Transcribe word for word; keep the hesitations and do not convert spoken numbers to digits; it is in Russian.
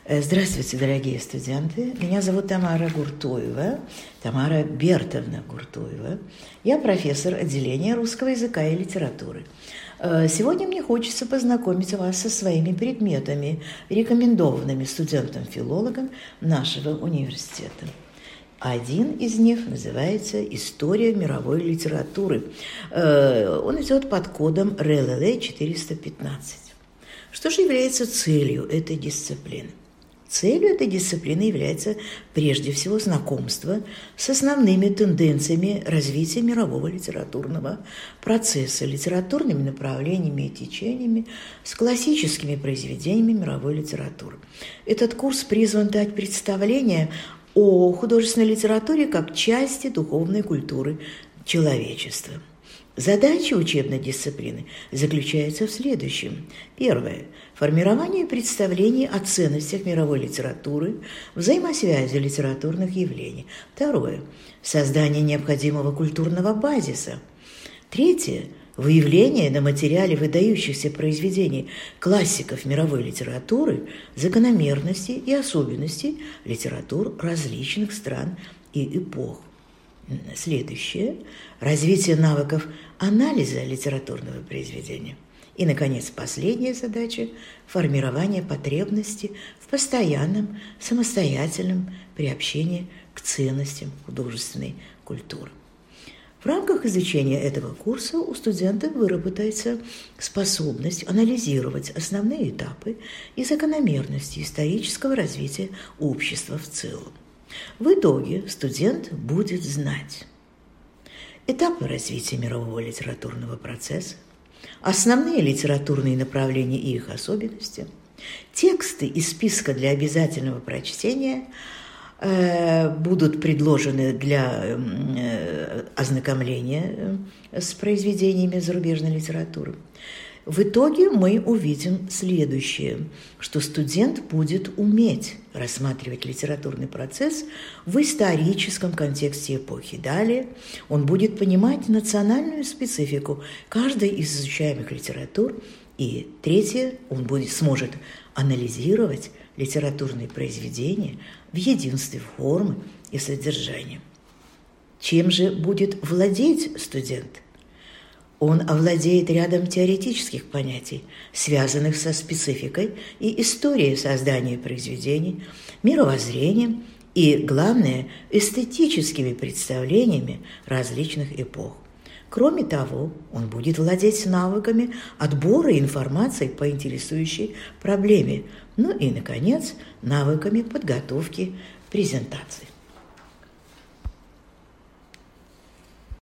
Здравствуйте, дорогие студенты. Меня зовут Тамара Гуртуева, Тамара Бертовна Гуртуева. Я профессор отделения русского языка и литературы. Сегодня мне хочется познакомить вас со своими предметами, рекомендованными студентам-филологам нашего университета. Один из них называется «История мировой литературы». Он идет под кодом эр эл эл эй четыреста пятнадцать. Что же является целью этой дисциплины? Целью этой дисциплины является прежде всего знакомство с основными тенденциями развития мирового литературного процесса, литературными направлениями и течениями, с классическими произведениями мировой литературы. Этот курс призван дать представление о художественной литературе как части духовной культуры человечества. Задача учебной дисциплины заключается в следующем. Первое. Формирование представлений о ценностях мировой литературы, взаимосвязи литературных явлений. Второе. Создание необходимого культурного базиса. Третье. Выявление на материале выдающихся произведений классиков мировой литературы закономерностей и особенностей литератур различных стран и эпох. Следующее – развитие навыков анализа литературного произведения. И, наконец, последняя задача – формирование потребности в постоянном, самостоятельном приобщении к ценностям художественной культуры. В рамках изучения этого курса у студента выработается способность анализировать основные этапы и закономерности исторического развития общества в целом. В итоге студент будет знать этапы развития мирового литературного процесса, основные литературные направления и их особенности, тексты из списка для обязательного прочтения э, будут предложены для э, ознакомления с произведениями зарубежной литературы. В итоге мы увидим следующее, что студент будет уметь рассматривать литературный процесс в историческом контексте эпохи. Далее он будет понимать национальную специфику каждой из изучаемых литератур. И третье, он будет, сможет анализировать литературные произведения в единстве формы и содержания. Чем же будет владеть студент? Он овладеет рядом теоретических понятий, связанных со спецификой и историей создания произведений, мировоззрением и, главное, эстетическими представлениями различных эпох. Кроме того, он будет владеть навыками отбора информации по интересующей проблеме, ну и, наконец, навыками подготовки презентаций.